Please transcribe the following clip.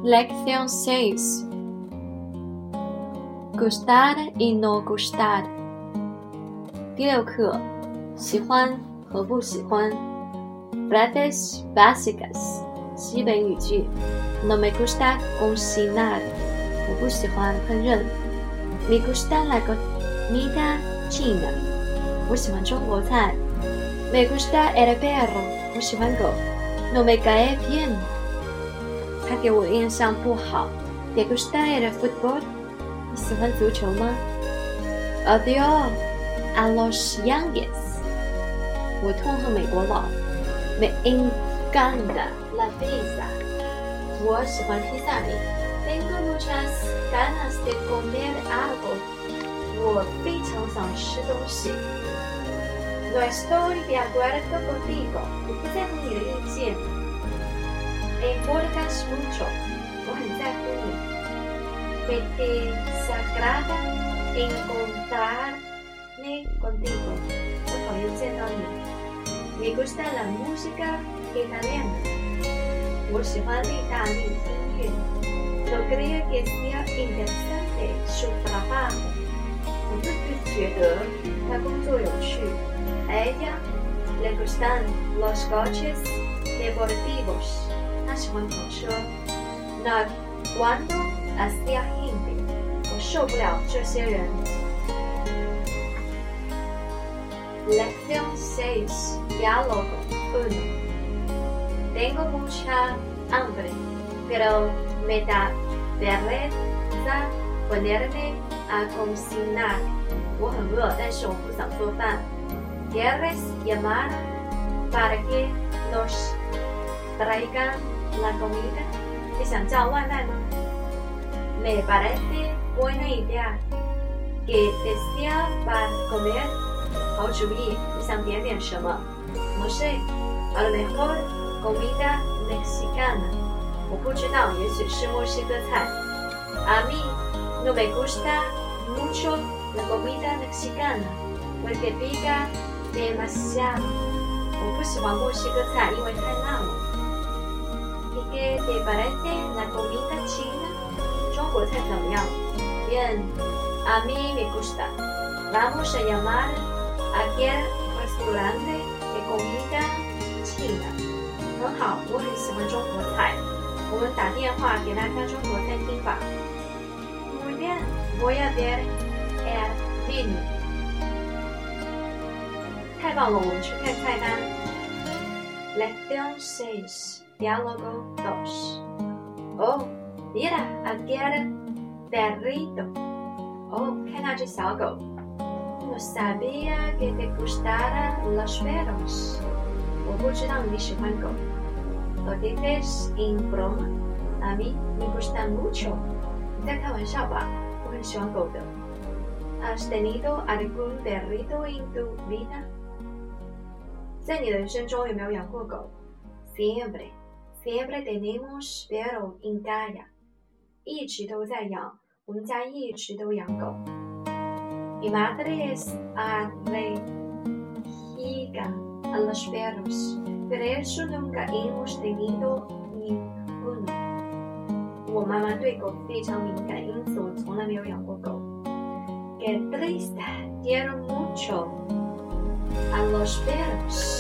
Lección 6. Gustar y no gustar. 第6课，喜欢和不喜欢。Frases básicas， 基本语句。No me gusta cocinar， 我不喜欢烹饪。Me gusta la comida china， 我喜欢中国菜。Me gusta el perro， 我喜欢狗。No me cae bien， 他给我印象不好。¿Te gusta el fútbol？ 你喜欢足球吗？ Odio a los Yankees， 我痛恨美国佬。Me encanta la pizza， 我喜欢披萨饼。Tengo muchas ganas de comer algo， 我非常想吃东西。No estoy de acuerdo contigo， 我不在乎你的意见。Importas mucho， 我很在乎你。Me desagrada encontrarme contigo， 我讨厌见到你。Me gusta la música italiana， 我喜欢意大利音乐。No creo que sea interesante su trabajo， 我并不觉得他工作有趣。A ella le gustan los coches deportivos， 他喜欢跑车。No aguanto a esta gente， 我受不了这些人。Lección 6, Diálogo 1. Tengo mucha hambre, pero me da vergüenza ponerme a cocinar. 我很饿，但是我不想做饭。¿Quieres llamar para que nos traigan la comida? 你想叫外卖吗？ Me parece buena idea. ¿Qué desea para comer?好主意，你想点点什么 ？No sé, a lo mejor comida mexicana。我不知道，也许是墨西哥菜。A mí no me gusta mucho la comida mexicana porque pica demasiado。我不喜欢墨西哥菜，因为太辣了。¿Y qué te parece la comida china？ 中国菜怎么样 ？Bien, a mí me gusta. Vamos a llamar.Aquel restaurante de comida china， 很好，我很喜欢中国菜。我们打电话给那家中国餐厅吧。Muy bien, voy a ver el menú。 太棒了，我们去看菜单。Lección 6, Diálogo 2. Oh, mira aquel perrito。 哦，看那只小狗。No sabía que te gustaran los perros。 我不知道你喜欢狗。Lo dices en broma. A mí me gustan mucho。 你在开玩笑吧？我很喜欢狗的。¿Has tenido algún perrito en tu vida？ 在你的人生中有没有养过狗 ？Siempre tenemos perros en casa。 一直都在养，我们家一直都养狗。Mi madre es alérgica a los perros, por eso nunca hemos tenido ninguno。 我妈妈对狗非常敏感，因此我从来没有养过狗。Qué triste, quiero mucho a los perros。